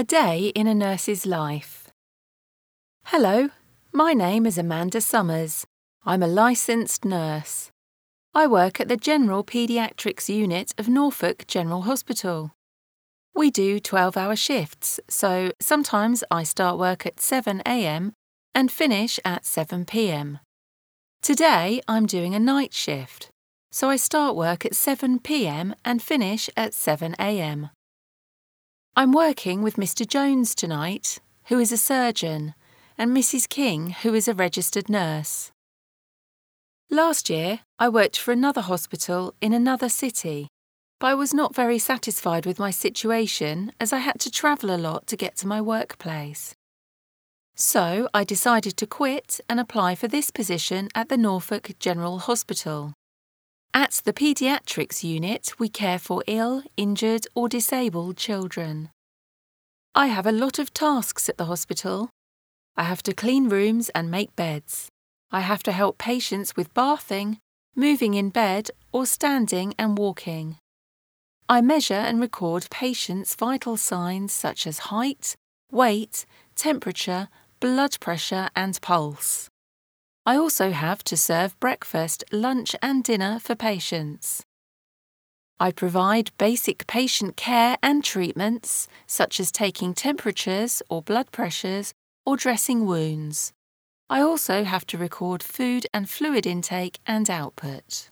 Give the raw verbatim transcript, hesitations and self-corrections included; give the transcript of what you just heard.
A day in a nurse's life. Hello, my name is Amanda Summers. I'm a licensed nurse. I work at the General Paediatrics Unit of Norfolk General Hospital. We do twelve-hour shifts, so sometimes I start work at seven a m and finish at seven p m. Today I'm doing a night shift, so I start work at seven p m and finish at seven a m. I'm working with Mister Jones tonight, who is a surgeon, and Missus King, who is a registered nurse. Last year, I worked for another hospital in another city, but I was not very satisfied with my situation as I had to travel a lot to get to my workplace. So I decided to quit and apply for this position at the Norfolk General Hospital. At the paediatrics unit, we care for ill, injured or disabled children. I have a lot of tasks at the hospital. I have to clean rooms and make beds. I have to help patients with bathing, moving in bed or standing and walking. I measure and record patients' vital signs such as height, weight, temperature, blood pressure and pulse. I also have to serve breakfast, lunch and dinner for patients. I provide basic patient care and treatments, such as taking temperatures or blood pressures or dressing wounds. I also have to record food and fluid intake and output.